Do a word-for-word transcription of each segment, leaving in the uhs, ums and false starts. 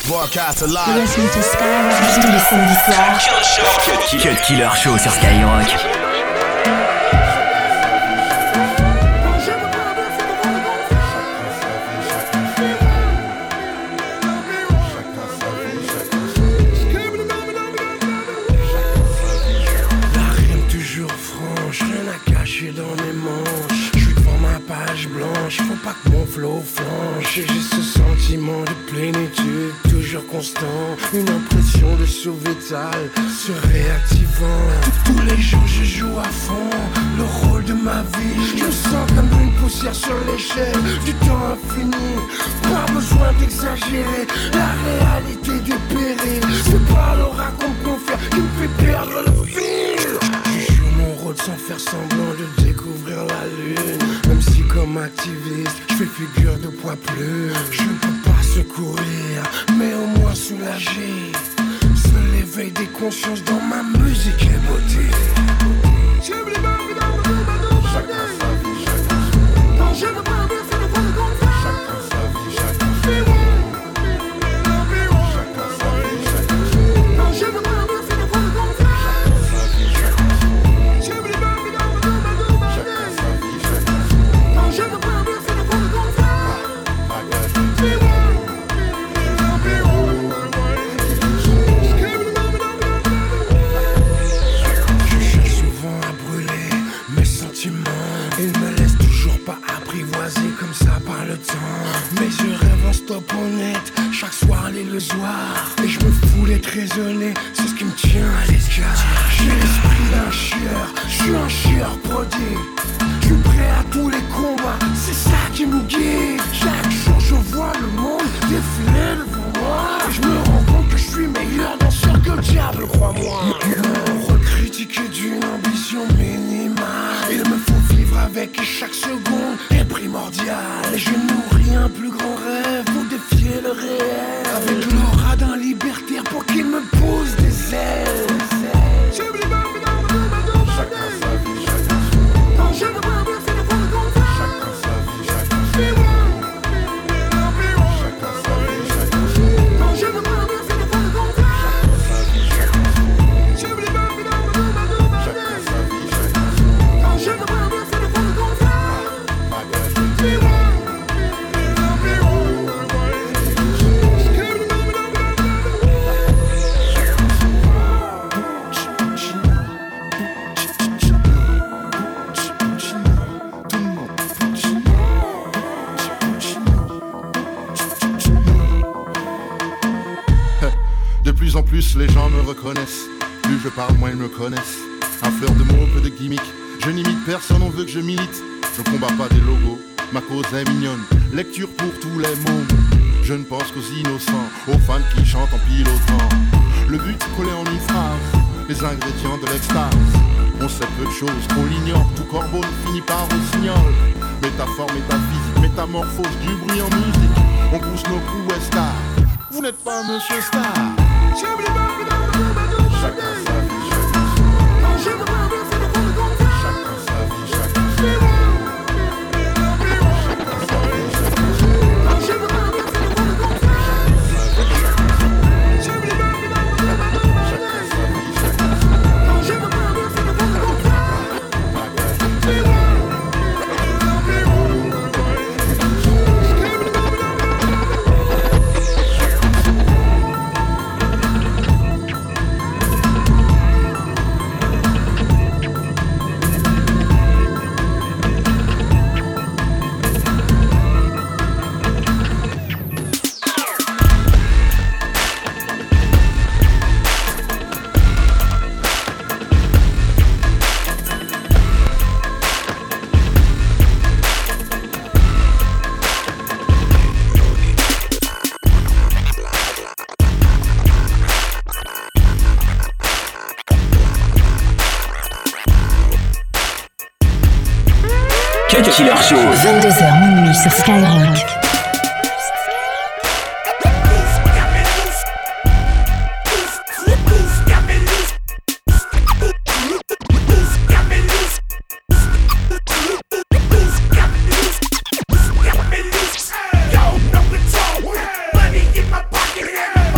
Broadcast alive. You're listening to Skyrock tous les samedis soirs. Cut Killer Show sur Skyrock. Faut pas que mon flow flanche. J'ai ce sentiment de plénitude, toujours constant. Une impression de sauvetage se réactivant. Tous les jours je joue à fond le rôle de ma vie. Je me sens comme une poussière sur l'échelle du temps infini. Pas besoin d'exagérer, la réalité dépérée. C'est pas le raconte mon frère qui me fait perdre le fil. Je joue mon rôle sans faire semblant de découvrir la lune. Même si comme activiste, je fais figure de poids plume. Je ne peux pas secourir, mais au moins soulager. C'est l'éveil des consciences dans ma musique et beauté. Chacun sa vie, chacun son. Je ne peux pas dire c'est le point de contact. Chacun sa vie, chacun son. Chacun sa vie, chacun son. Je ne peux pas dire c'est le point de contact. Chacun sa vie, chacun son. Chacun sa vie, chacun son. Je ne peux pas dire c'est le point de contact. Je cherche souvent à brûler mes sentiments. Ils me laissent toujours pas apprivoiser comme ça par le temps. Mais je rêve en stop honnête chaque soir l'illusoire. Et je me fous d'être raisonné, c'est ce qui me tient à l'écart. J'ai l'esprit d'un chieur, je suis un chieur prodigue. Je suis prêt à tous les combats, c'est ça qui me guide. Chaque jour je vois le monde défiler devant moi. Et je me rends compte que je suis meilleur danseur que le diable, crois-moi. Me recritiquer d'une ambition minimale. Il me faut vivre avec et chaque seconde est primordiale. Et je nourris un plus grand rêve pour défier le réel. Avec l'aura d'un libertaire pour qu'il me pose des ailes. Chacun sa vie, chacun son. Je ne peux pas dire c'est le point de contact. Chacun sa vie, chacun son. Chacun sa vie, chacun son. Je ne peux pas dire c'est le point de contact. Chacun sa vie, chacun son. Chacun sa vie, chacun son. Je ne peux pas dire c'est le point de contact. De plus en plus les gens me reconnaissent. Plus je parle, moins ils me connaissent. Un fleur de mots, peu de gimmick. Je n'imite personne, on veut que je milite. Je combats pas des logos, ma cause est mignonne. Lecture pour tous les mômes. Je ne pense qu'aux innocents, aux fans qui chantent en pilotant. Le but collé en une phrase, les ingrédients de l'extase. On sait peu de choses, on l'ignore. Tout corbeau ne finit par au signal. Métaphore, métaphysique, métamorphose du bruit en musique. On pousse nos coups et stars. Vous n'êtes pas Monsieur Star. Chacun sa vie, chacun son. Je ne peux pas dire c'est le point de contact. Chacun sa vie, chacun son. Chacun sa vie, chacun son. Je ne peux pas dire c'est le point de contact. Chacun sa vie, chacun son. Je ne peux pas dire c'est le point de contact. Cut Killer Show. vingt-deux heures minuit sur Skyrock. Money in my pocket,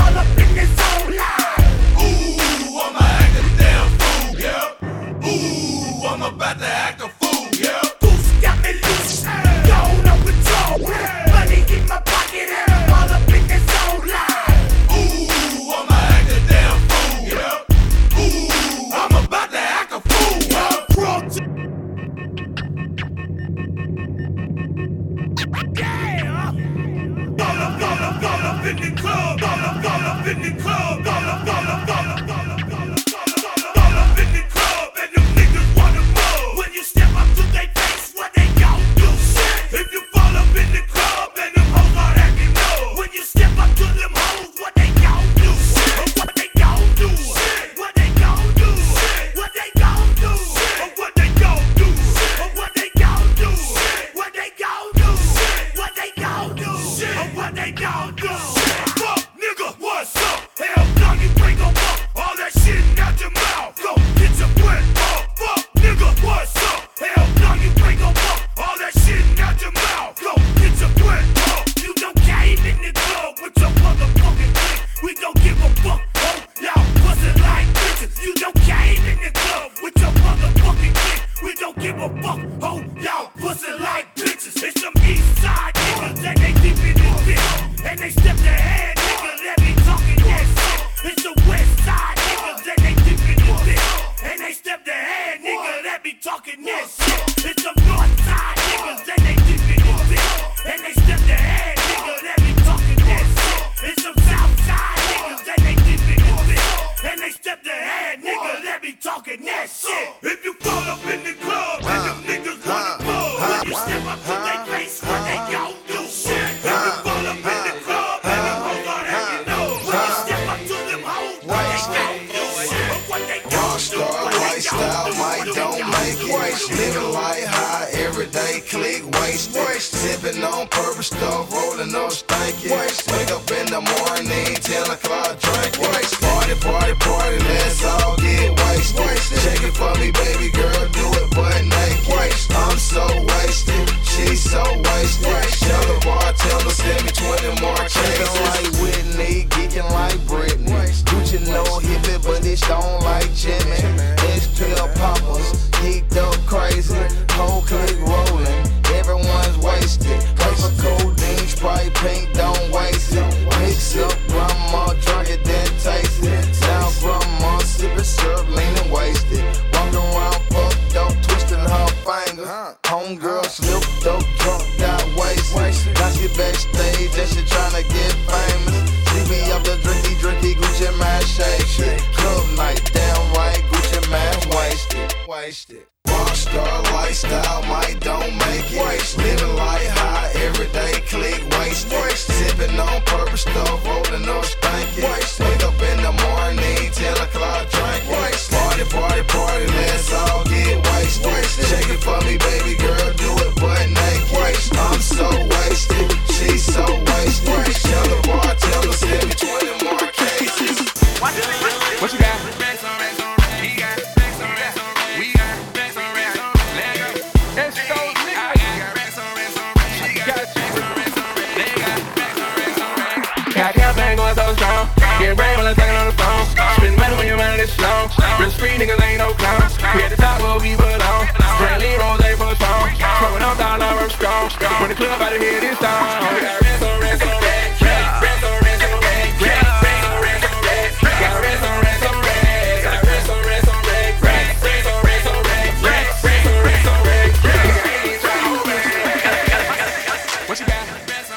in the club, ball up, ball up in the club, ball up, ball up, ball up, ball up, ball up, ball up in the club, and them niggas wanna move. When you step up to their face, what they gon' do? Shit. If you fall up in the club, and them hoes are acting low. When you step up to them hoes, what they gon' do? Shit. What they gon' do? Shit. What they gon' do? Shit. What they gon' do? Shit. What they gon' do? Shit. What they gon' do? Shit. What they gon' do? Shit. What they gon' do? Shit. What they gon' do? Fuck, nigga, what's up? Hell, dog, you ain't gon' fuck all that shit out your mouth. Go get your bread up. Fuck, nigga, what's up? Hell, dog, you ain't gon' fuck all that shit out your mouth. Go get your bread up. You don't came in the club with your motherfucking dick. We don't give a fuck. Oh, y'all bustin' like bitches. You don't came in the club with your motherfucking dick. We don't give a fuck. Oh, y'all bustin' like bitches. It's some east side niggas that they deep in the dick. And they step their head, nigga, let me talkin' that shit. It's the west side niggas that they deep in the dick. And they step their head, nigga, let me talkin' that shit. It's the north side niggas that they deep in the dick. And they step their head, nigga, let me talkin' that shit. It's some south side niggas that they deep in the dick. And they step their head, nigga, let me talkin' that shit. If you fall up in the club and them niggas wanna move, when you step up to their face, what they gon' do? Shit. If you fall up in the club and them hoes are acting low, when you step up to them hoes, what they gon' do? Shit. What they gon' do? Rockstar lifestyle, might don't make it. Living life high, everyday click, waste. Sipping on purple stuff, rolling up stanky. Wake up in the morning, ten o'clock drink. Party, party, party, let's all get wasted. Shake it for me, baby girl, do it butt naked. I'm so wasted, she's so wasted. Tell the bartender, send me twenty more cases. Geeking like Whitney, geeking like Britney. Gucci no hippie, but it's stone like Jimmy. X-Pill poppers, geeked up crazy. Whole clique rolling, everyone's wasted. Paper codeine, Sprite pink, don't waste it. Mix up, grandma drunk it, then taste it. Now grandma sipping syrup, leaning wasted. Walking around fucked up, twisting her fingers. Homegirl slipped up, drunk, got wasted. Now she backstage and she tryna get famous. She be up the drinky, drinky, Gucci man shake. Club night, damn right, Gucci man wasted. Wasted. Rockstar lifestyle, might don't make it. Living life high, everyday click, waste. Sipping on purple stuff, rolling up stanky. Wake up in the morning, ten o'clock drink. Party, party, party, let's all get wasted. Shake it for me, baby girl, do it butt naked. I'm so wasted, she's so wasted. Tell the bartender, send me twenty more cases. What you got? Getting brave when I'm talking on the phone. Spend money when your mind is slow. Real street niggas ain't no clowns. We at the top where we belong. Brantley Rose ain't for strong. Smoking up dollar, I'm strong. When the club out of here this time. We got rest on rest on rest. Rest on rest on rest. Rest on rest on rest. Got rest on rest on rest. Got rest on rest on rest. Rest on rest on rest. Rest on rest on rest. What you got?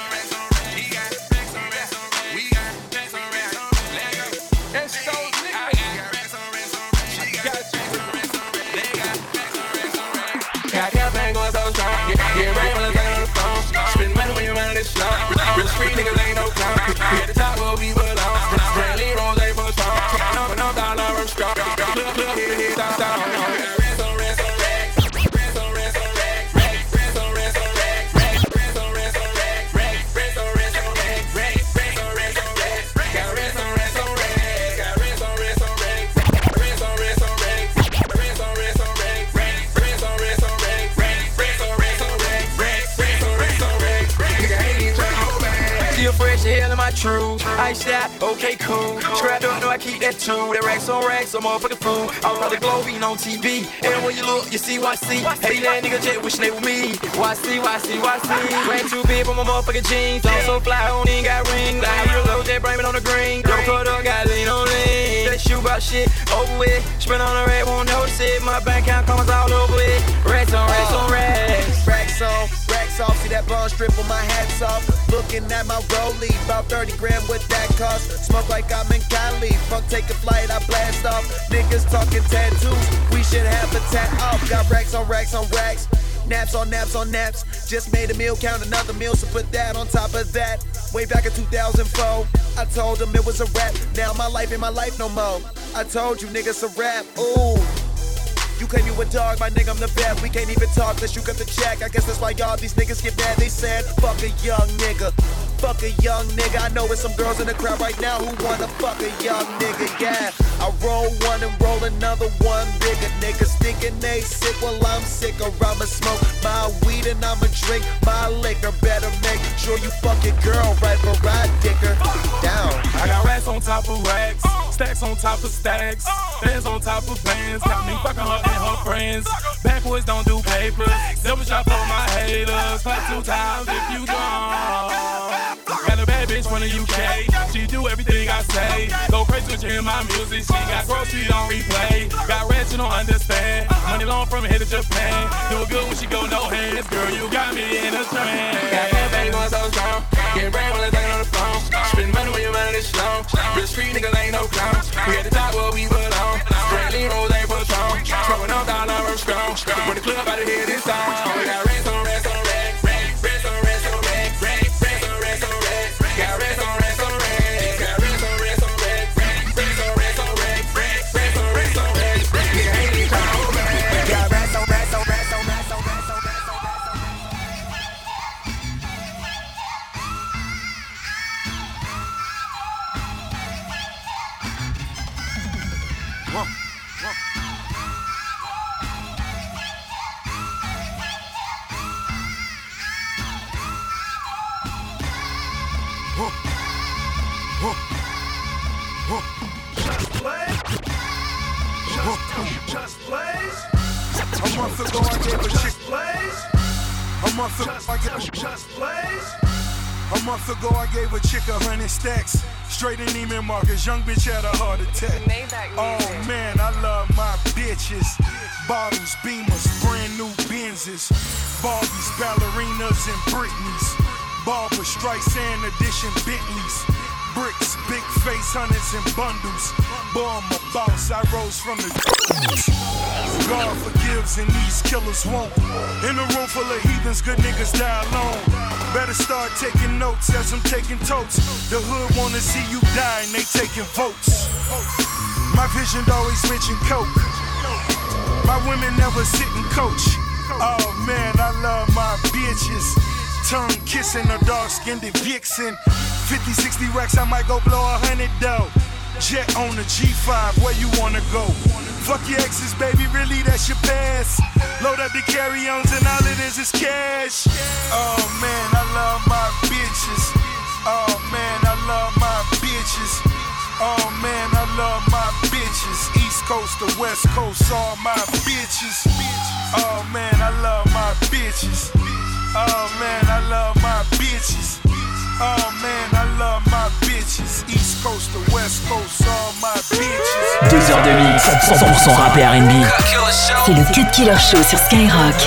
Real street niggas ain't no clown. We at the top where we belong. Brantley Rose ain't for strong. Smoking up dollar, I'm strong. Club, club, hit, hit, stop, stop. Rest on rest on rest. Rest on rest on rest. Rest on rest on rest. Rest on rest on rest. Rest on rest on rest. Rest on rest on rest. Got rest on rest on rest. Got rest on rest on rest. Rest on rest on rest. Rest on rest on rest. Rest on rest on rest. Rest on rest on rest. Rest on rest on rest. Nigga ain't even tryna hold back. Still fresh, hell in my truth. Ice out, okay, cool. Scrap up, know I keep that too. That racks on racks, some motherfucking food. All about the globe, eating on T V. And when you look, you see Y C. Hey, that nigga jet wishing they were me. Y C, Y C, Y C. Ran too big for my motherfucking jeans. I'm so fly, I don't even got rings. I real low, that brain on the green. Don't cut up, got lean on lean. That shoe about shit over with. Spin on the red, won't notice it. My bank account comes all over it. Racks on racks on racks. Racks on, racks off. See that bond strip on my hats off. Looking at my rollie, about thirty grand what that cost. Smoke like I'm in Cali. Fuck, take a flight, I blast off. Niggas talking tattoos, we should have a tat off. Got racks on racks on racks. Naps on naps on naps. Just made a meal, count another meal, so put that on top of that. Way back in two thousand four, I told them it was a rap. Now my life ain't my life no more. I told you niggas a rap, ooh. You claim you a dog, my nigga, I'm the best. We can't even talk unless you got the check. I guess that's why y'all these niggas get mad. They said, fuck a young nigga. Fuck a young nigga. I know there's some girls in the crowd right now who wanna fuck a young nigga, yeah. I roll one and roll another one bigger. Niggas thinking they sick, well I'm sick. Or I'ma smoke my weed and I'ma drink my liquor. Better make sure you fuck your girl right for I dick her down. I got racks on top of racks, stacks on top of stacks, bands on top of bands. Got me fucking her and her friends. Backwards don't do papers. Double shot for my haters. Clap two times if you gone. Got a bad bitch from the U K. She do everything I say. Go crazy when she hear my music. She got groceries on replay. Got rats you don't understand. Money long from here to Japan. Do it good when she go no hands. Girl, you got me in a trance. Got that baby going so strong. Getting brand when I'm talking on the phone. Spend money when you're running this slow. Real street niggas ain't no clowns. We at the top where we belong. Straight lean rolls ain't for strong. Smoking up down our strong. When the club out of here this song. We got rats on rats on racks. Rats on rats on racks. Rats on rats on racks. Got rats on rats on racks. Got rats on rats on racks. Rats on rats on racks. Rats on rats on racks. Nigga ain't even trying to hold back. Got rats on rats on rats on rats on rats on rats on rats on. Whoa, whoa. Whoa. Whoa. Whoa. Just play. Just, just plays. A month ago I gave a chick plays. A month ago I gave Just, just plays. A month ago I gave a chick a hundred stacks. Straight in Neiman Marcus, young bitch had a heart attack. Oh man, I love my bitches. Bottles, Beamers, brand new Benzes. Barbies, ballerinas, and Britneys. Barbara Streisand edition Bentleys. Bricks, big face, hundreds and bundles. Boy, I'm a boss, I rose from the God forgives and these killers won't. In a room full of heathens, good niggas die alone. Better start taking notes as I'm taking totes. The hood wanna see you die and they taking votes. My vision always mention coke. My women never sit and coach. Oh man, I love my bitches. Tongue kissing a dark-skinned vixen. fifty, sixty racks, I might go blow a hundred dough. Jet on the G five, where you wanna go? Fuck your exes, baby, really that's your past. Load up the carry-ons and all it is is cash. Oh man, I love my bitches. Oh man, I love my bitches. Oh man, I love my bitches. East Coast to West Coast, all my bitches. Oh man, I love my bitches. Oh man, I love my bitches. Oh man, I love my bitches. East Coast to West Coast, all my bitches. Deux heures de mix, cent pour cent rap et R and B. C'est le Cut Killer Show sur Skyrock.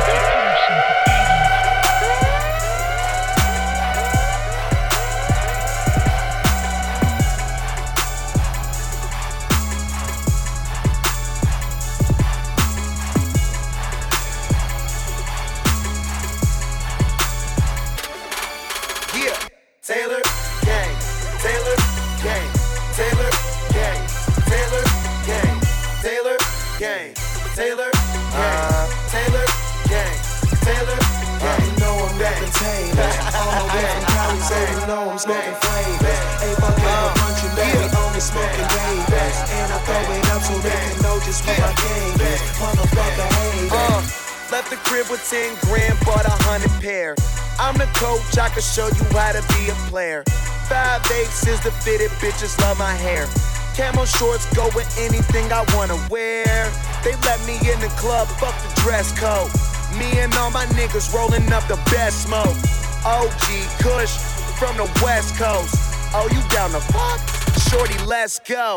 ten grand, bought a hundred pair. I'm the coach, I can show you how to be a player. Five eighths is the fitted, bitches love my hair. Camo shorts go with anything I wanna wear. They let me in the club, fuck the dress code. Me and all my niggas rolling up the best smoke. O G Kush from the West Coast. Oh, you down the fuck? Shorty, let's go.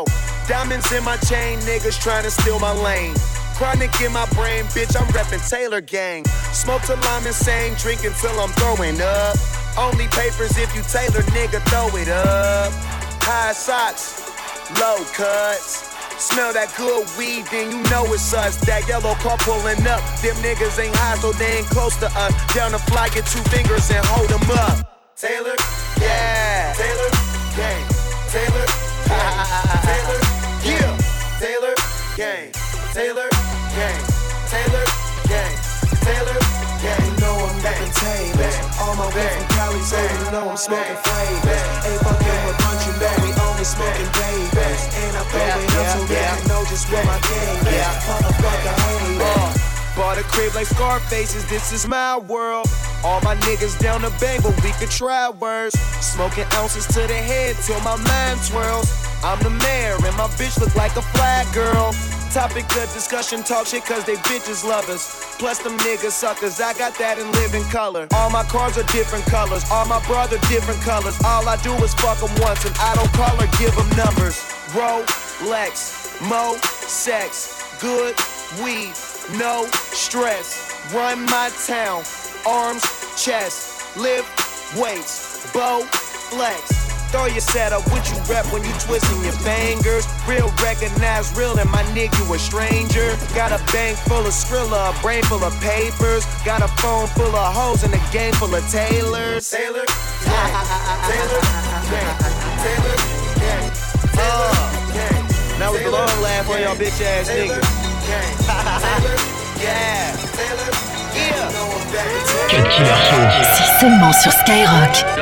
Diamonds in my chain, niggas trying to steal my lane. Chronic in my brain, bitch, I'm reppin' Taylor Gang. Smoke till I'm insane, drinking till I'm throwing up. Only papers if you Taylor, nigga, throw it up. High socks, low cuts. Smell that good weed, then you know it's us. That yellow car pulling up. Them niggas ain't high, so they ain't close to us. Down the fly, get two fingers and hold them up. Taylor, yeah. Taylor, gang. Taylor, gang. Taylor, yeah. Taylor, gang. Taylor, gang. Taylor, gang. Taylor, gang. You know I'm living Taylor. All my way from Cali, so you know I'm smoking flavors. Ain't fucking with country, man, we only smoking babies. And I throw it up so they can know just where my game is. Motherfucker, hate bought a crib like Scarface's, this is my world. All my niggas down the bank, but we could try worse. Smoking ounces to the head till my mind twirls. I'm the mayor and my bitch look like a flag girl. Topic of discussion, talk shit cause they bitches love us. Plus them niggas suckers, I got that in living color. All my cars are different colors, all my brother different colors. All I do is fuck them once and I don't call or give them numbers. Rolex, mo, sex, good weed, no stress. Run my town, arms, chest, lift weights, bow, flex. Throw your setup, what you rep when you twisting your fingers. Real recognize real and my nigga you a stranger. Got a bank full of Skrilla, a brain full of papers. Got a phone full of hoes and a game full of tailors. Taylor, gang, Taylor, gang, Taylor, gang, Taylor, gang. Now with the long laugh on y'all bitch ass niggas. Yeah, Taylor, yeah. Cut Killer Show. C'est seulement sur Skyrock.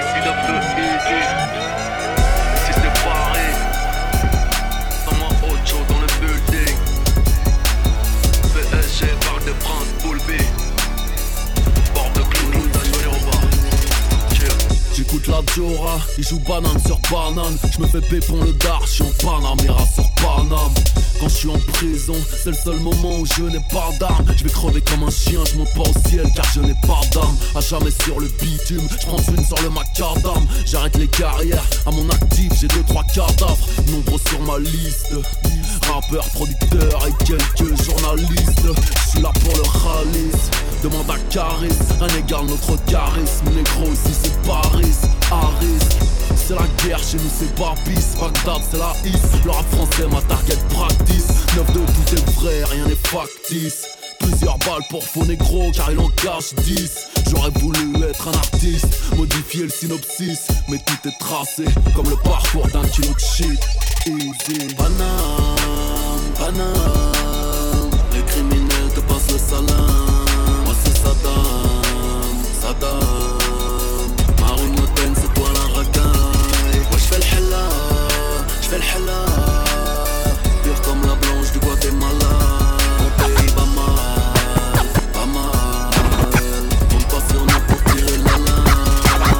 J'écoute la Diora, il joue banane sur banane. J'me fais pépon le dar, j'suis en Panamera sur Paname. Quand j'suis en prison, c'est le seul moment où je n'ai pas d'armes. J'vais crever comme un chien, j'monte pas au ciel car je n'ai pas d'âme. À jamais sur le bitume, j'prends une sur le macadam. J'arrête les carrières, à mon actif j'ai deux trois cadavres. Nombreux sur ma liste, rappeur, producteur et quelques journalistes. J'suis là pour le ralice, demande à Caris. Un égal notre charisme, négro ici c'est Paris. Harris, c'est la guerre, chez nous c'est Barbis. Bagdad c'est la hisse, le rap français ma target practice. Neuf de tout est vrai, rien n'est factice. Plusieurs balles pour faux négro car il en cache dix. J'aurais voulu être un artiste, modifier le synopsis. Mais tout est tracé comme le parcours d'un kilo de shit. Easy. Paname, Paname, les criminels te passent le salam. Moi c'est Saddam, Saddam. Marine Le Pen c'est toi la racaille. Moi j'fais l'hella, j'fais l'hella. Pure comme la blanche du Guatemala. Mon pays va mal, pas mal. On passe sur nous pour tirer la lame.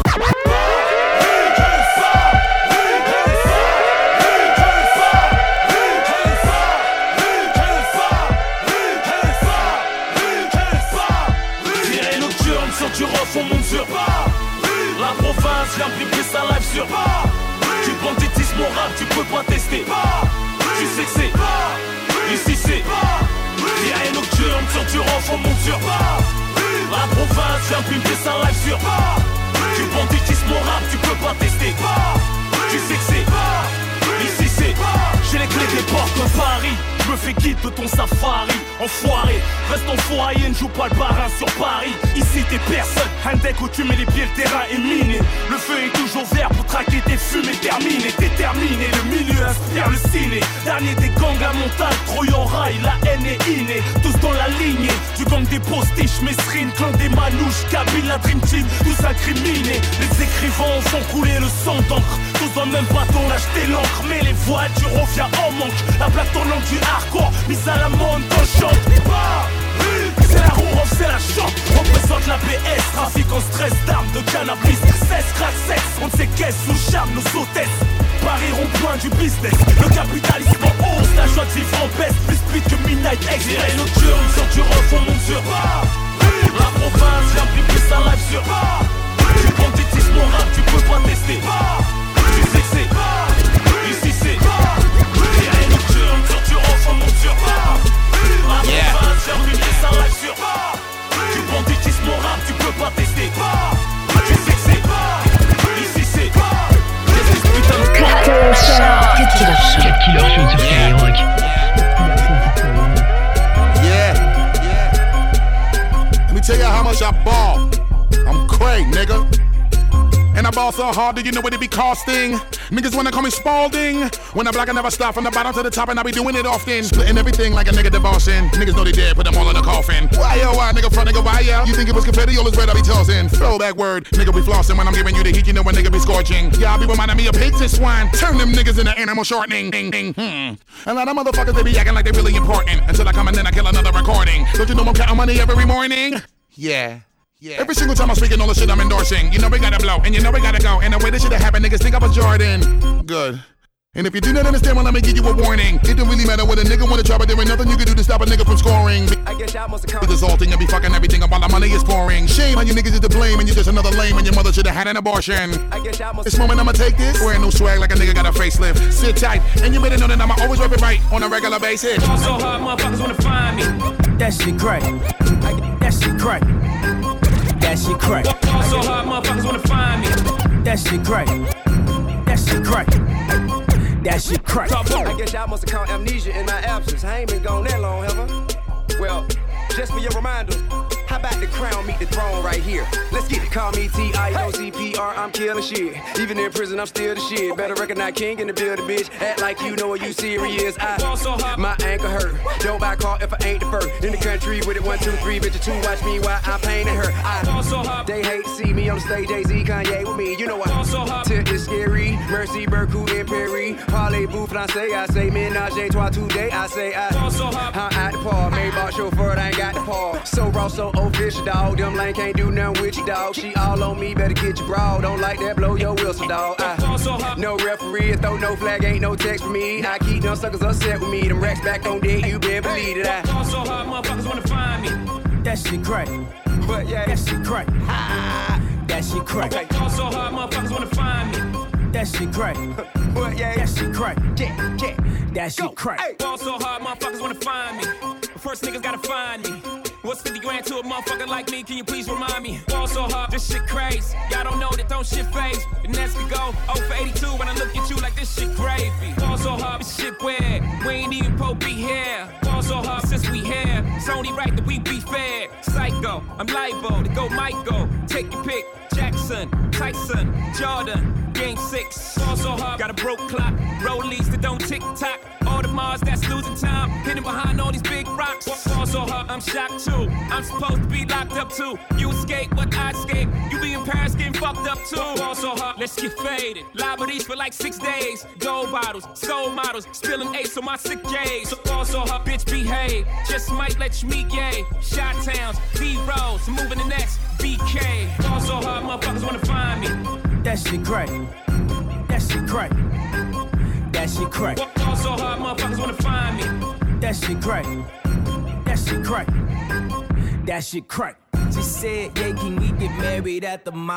Tirez nocturne sur du rough, on monte sur pas. La province vient priver sa life sur pas. Tu banditisme au rap, tu peux pas tester pas. Tu sais que c'est pas. Ici c'est pas. Tirez nocturne sur du rough, on monte sur pas. La province vient priver sa life sur pas. Tu banditisme au rap, tu peux pas tester pas. Tu sais que c'est pas. Ici c'est pas. J'ai les clés des portes de Paris. Je me fais guide de ton safari. Enfoiré, reste en foyer, ne joue pas le parrain sur Paris. Ici t'es personne, un deck où tu mets les pieds, le terrain est miné. Le feu est toujours vert pour traquer tes fumées terminées. T'es terminé, le milieu inspire le ciné. Dernier des gangs à montagne, Troy en rail, la haine est innée. Tous dans la lignée, du gang des postiches, Mesrine, clan des manouches, Kabyle, la Dream Team, tous incriminés. Les écrivains font couler le sang d'encre. Tous dans le même bateau, l'acheter l'encre. Mais les voitures reviennent en manque. La plaque tournante du hardcore, mise à la mode dans le champ. C'est la roue, c'est la chante. Représente la B S, trafic en stress d'armes, de cannabis, cesse, crack, sexe. On ne sait qu'est-ce, sous charme, nos hôtesses. Paris rond-point du business. Le capitalisme en hausse, la joie de vivre en baisse. Plus speed que Midnight Express. Nocturne, sur du rough, on monte sur pas. La province vient priver sa life sur pas. Tu banditisme au rap, tu peux pas tester pas. Tu sais que c'est pas. Ici c'est pas. Cut Killer Show sur Skyrock. Yeah, yeah. Let me tell you how much I ball. I'm cray, nigga. And I ball so hard, do you know what it be costing? Niggas wanna call me Spalding. When I block, I never stop from the bottom to the top, and I be doing it often. Splitting everything like a nigga divorcing. Niggas know they dead, put them all in a coffin. Why yo, why nigga front, nigga, why yo? You think it was confetti, all is red, I be tossing. Throwback word, nigga be flossing. When I'm giving you the heat, you know a nigga be scorching. Yeah, I be reminding me of pigs and swine. Turn them niggas into animal shortening. Ding, ding, hmm. A lot of motherfuckers, they be acting like they really important. Until I come and then I kill another recording. Don't you know I'm counting money every morning? Yeah. Yeah. Every single time I'm speaking all the shit I'm endorsing. You know we gotta blow, and you know we gotta go. And the way this shit happen, niggas think I was Jordan. Good. And if you do not understand, well, let me give you a warning. It don't really matter what a nigga wanna try, but there ain't nothing you can do to stop a nigga from scoring. I guess y'all must have come. It's assaulting and be fucking everything while the money is pouring. Shame how you niggas is to blame, and you just another lame, and your mother should've had an abortion. I guess y'all must. This moment I'ma take this. Wearing no swag like a nigga got a facelift. Sit tight, and you better know that I'ma always rep it right on a regular basis. So hard, motherfuckers wanna find me. That shit crack. That shit crack. That shit crack. So hard, motherfuckers wanna find me. That shit crack. That shit crack. That shit crack. I guess y'all must have caught amnesia in my absence. I ain't been gone that long, have I? Well, just for your reminder, how about the crown meet the throne right here? Let's get it. Call me T I O C P R, I'm killing shit. Even in prison, I'm still the shit. Better recognize king in the building, bitch. Act like you know what you serious. I, my ankle hurt. Don't buy a car if I ain't the first. In the country with it, one, two, three, bitch, two. Watch me while I'm painting her. I, they hate to see me on the stage, Jay-Z, Kanye with me. You know what? Tip is scary. Mercy, Berkut, and Perry. Parlez-vous, français, I say ménage à trois today. I say I, I'm at the par. Maybach chauffeur, I ain't got the par. So raw, so official, dog. Them lane can't do nothing with you, dog. She all on me, better get your bra. Don't like that, blow your whistle, dog. I, no referee, throw no flag, ain't no text for me. I keep them suckers upset with me. Them racks back on deck, you better believe it. I, so hard, motherfuckers wanna find me. That shit crack. But yeah, that shit crack. That shit crack. Okay. So hard, motherfuckers wanna find me. That shit crack. But yeah, that shit crack. Yeah, yeah. That shit crack. Hey. Ball so hard, motherfuckers wanna find me. But first niggas gotta find me. What's fifty grand to a motherfucker like me? Can you please remind me? Ball so hard, this shit crazy. Y'all don't know that don't shit phase. The next could go oh for eighty-two when I look at you like this shit gravy. Ball so hard, this shit weird. We ain't even po be here. Ball so hard since we here. It's only right that we be fair. Psycho, I'm liable to go Michael. Take your pick. Jackson, Tyson, Jordan, game six. Ball so hard, got a broke clock. Rollies that don't tick tock. All the Mars that's losing time. Hidden behind all these big rocks. Ball so hard, I'm shocked too. I'm supposed to be locked up too. You escape, but I escape. You be in Paris getting fucked up too. Ball so hard, let's get faded. Liberties for like six days. Gold bottles, soul models, spilling ace on my sick days. So ball so hard, bitch behave. Just might let you meet gay. Shot towns, B-rolls, moving the next B K. Ball so hard, motherfuckers wanna find me. That shit crack. That shit crack. That shit crack. Ball so hard, motherfuckers wanna find me. That shit crack. That shit crack. That shit crack. She said, yeah, can we get married at the mall?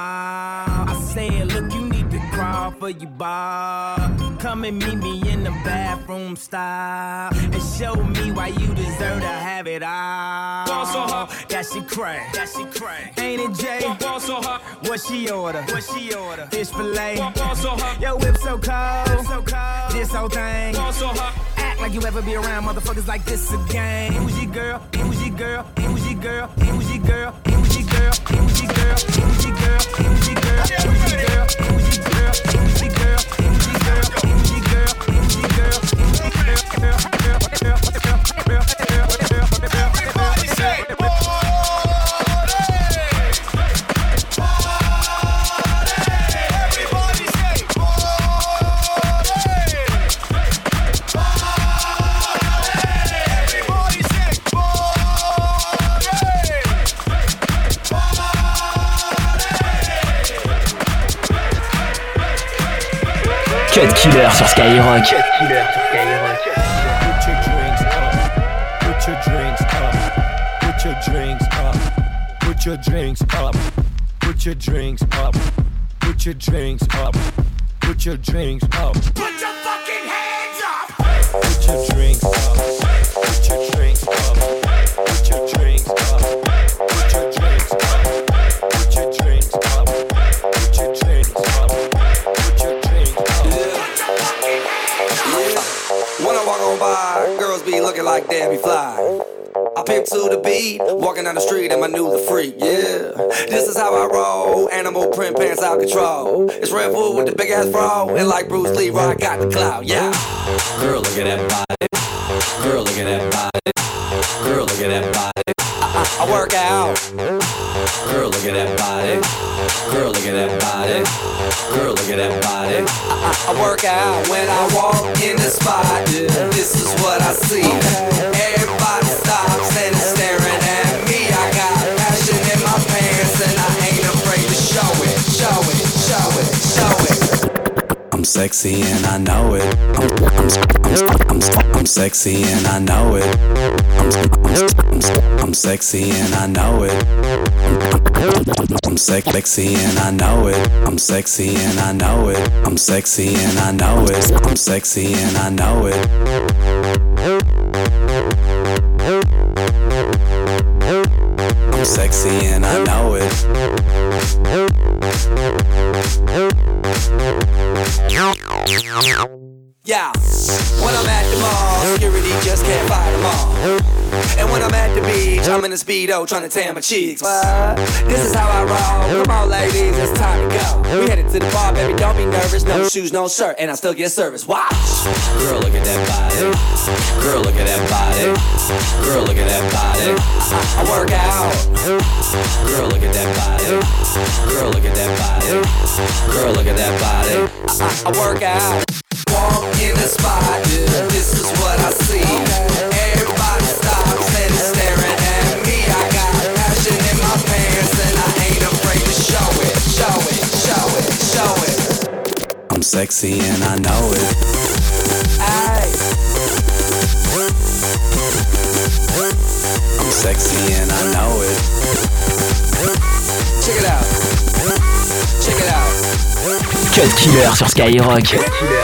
I said, look, you need to crawl for your bar. Come and meet me in the bathroom style and show me why you deserve to have it all. Ball so hard. That shit crack. That shit crack. Ain't it, Jay? Ball so hard. What she order? What she order? Fish fillet. Ball so hard. Yo, whip so cold. So cold. This whole thing. Ball so hard. Act like you ever be around motherfuckers like this again. Who's your girl? Who's your girl? Who's your girl? Who's your girl? Who's your girl? Who's your girl? Who's your girl? Who's your girl? Who's your girl? Who's your girl? Who's your girl? Who's your girl? Who's your girl? Who's your girl? Everybody say, Cut Killer sur Skyrock. Cut Killer sur Skyrock. Put your drinks up. Put your drinks up. Put your drinks up. Put your drinks up. Put your drinks up. Put your drinks up. Put your fucking hands up. Put your drinks up. Put your drinks up. Put your drinks up. Put your drinks up. Put your drinks up. Put your drinks up. Put your drinks up. I walk on by, girls be looking like Debbie Fly. I pimp to the beat, walking down the street and my new the freak, yeah. This is how I roll, animal print pants out control. It's Red Bull with the big ass bro, and like Bruce Lee, I got the clout, yeah. Girl, look at that body. Girl, look at that body. Girl, look at that body. I, I, I work out. Girl, look at that body. Girl, look at that body. Girl, look at that body. I, I, I work out when I walk in the spot. Yeah. This is what I see. Everybody stops and is staring at me. I got passion in my pants and I ain't afraid to show it, show it, show it, show it. I'm sexy and I know it. I'm, I'm, I'm, I'm, I'm sexy and I know it. I'm, I'm, I'm sexy and I know it. I'm sexy and I know it. I'm sexy and I know it. I'm sexy and I know it. I'm sexy and I know it. I'm sexy and I know it. Yeah, when I'm at the mall, security just can't fight them all. And when I'm at the beach, I'm in a Speedo trying to tan my cheeks. What? This is how I roll. Come on, ladies, it's time to go. We headed to the bar, baby, don't be nervous. No shoes, no shirt, and I still get service. Watch. Girl, look at that body. Girl, look at that body. Girl, look at that body. I, I work out. Girl, look at that body. Girl, look at that body. Girl, look at that body. I, I, I work out. Walk in the spot, yeah. This is what I see. Everybody stops and is staring at me. I got passion in my pants and I ain't afraid to show it, show it, show it, show it. I'm sexy and I know it. Aye. I'm sexy and I know it. Check it out. Check it out. Cut Killer sur Skyrock. Cut Killer.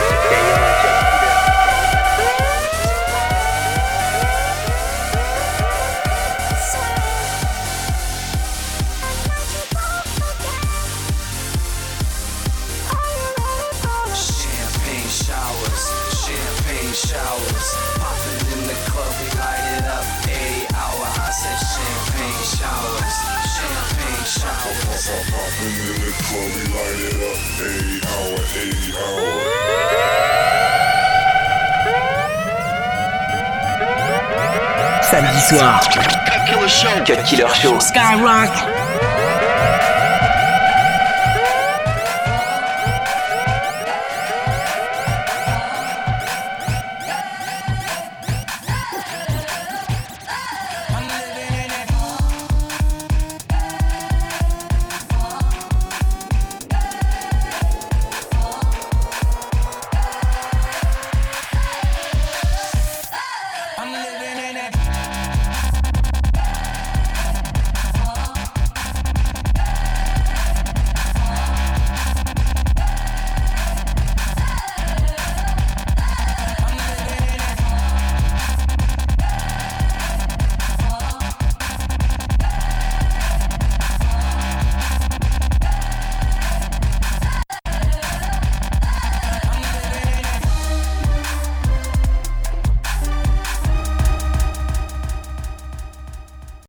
Samedi soir, Cut Killer Show, Cut Killer Show, Skyrock.